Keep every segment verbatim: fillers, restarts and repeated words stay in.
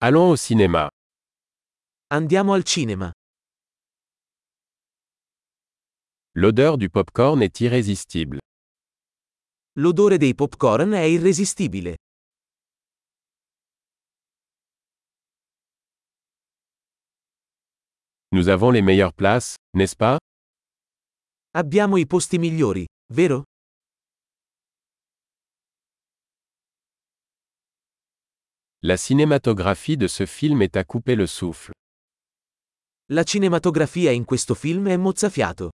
Allons au cinéma. Andiamo al cinema. L'odeur du popcorn est irrésistible. L'odore dei popcorn è irresistibile. Nous avons les meilleures places, n'est-ce pas? Abbiamo i posti migliori, vero? La cinématographie de ce film est à couper le souffle. La cinematografia in questo film è mozzafiato.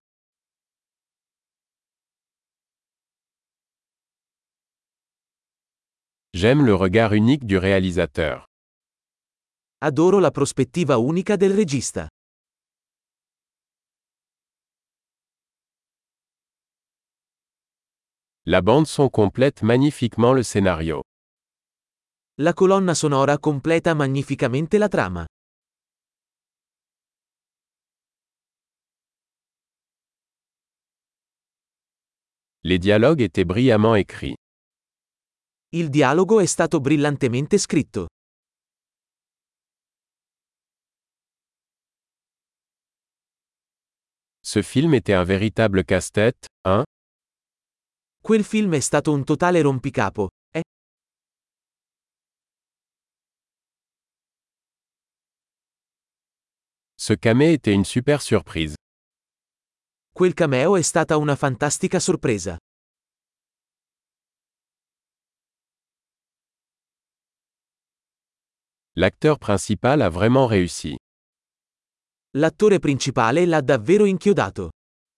J'aime le regard unique du réalisateur. Adoro la prospettiva unica del regista. La bande son complète magnifiquement le scénario. La colonna sonora completa magnificamente la trama. Les dialogues étaient brillamment écrits. Il dialogo è stato brillantemente scritto. Ce film était un véritable casse-tête, hein? Quel film è stato un totale rompicapo, eh? Ce camé était une super surprise. Quel cameo è stata una fantastica sorpresa. L'acteur principal a vraiment réussi. L'attore principale l'ha davvero inchiodato.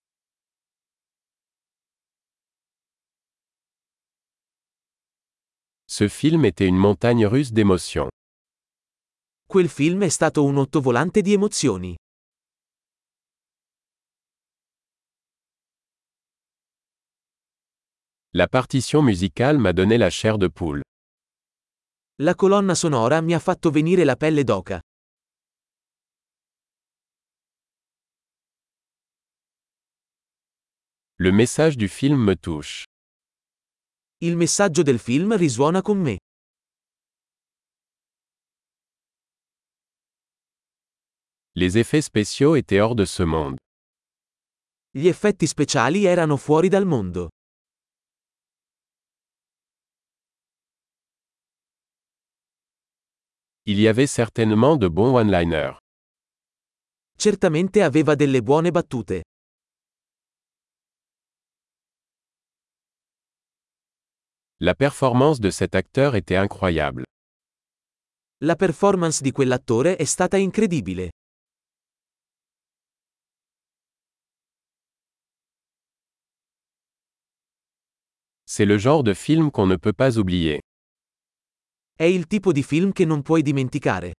Ce film était une montagne russe d'émotions. Quel film è stato un ottovolante di emozioni. La partition musicale m'a donné la chair de poule. La colonna sonora mi ha fatto venire la pelle d'oca. Le message du film me touche. Il messaggio del film risuona con me. Les effets spéciaux étaient hors de ce monde. Gli effetti speciali erano fuori dal mondo. Il y avait certainement de bons one-liners. Certamente aveva delle buone battute. La performance de cet acteur était incroyable. La performance di quell'attore è stata incredibile. C'est le genre de film qu'on ne peut pas oublier. È il tipo di film che non puoi dimenticare.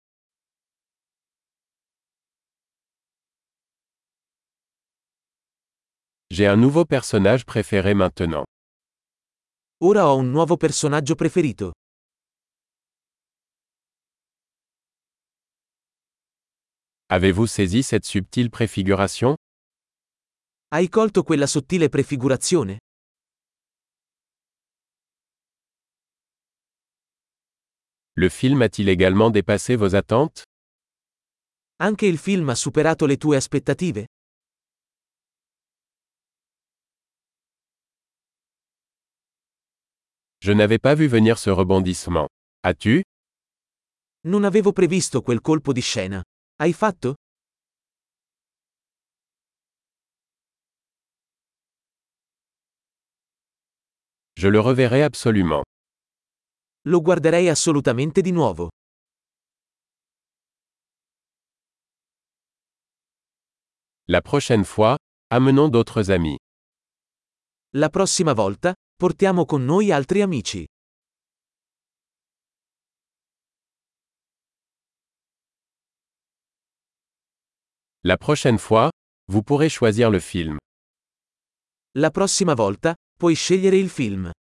J'ai un nouveau personnage préféré maintenant. Ora ho un nuovo personaggio preferito. Avez-vous saisi cette subtile préfiguration? Hai colto quella sottile prefigurazione? Le film a-t-il également dépassé vos attentes? Anche il film ha superato le tue aspettative? Je n'avais pas vu venir ce rebondissement. As-tu? Non avevo previsto quel colpo di scena. Hai fatto? Je le reverrai absolument. Lo guarderei assolutamente di nuovo. La prochaine fois, amenons d'autres amis. La prossima volta, portiamo con noi altri amici. La prochaine fois, vous pourrez choisir le film. La prossima volta, puoi scegliere il film.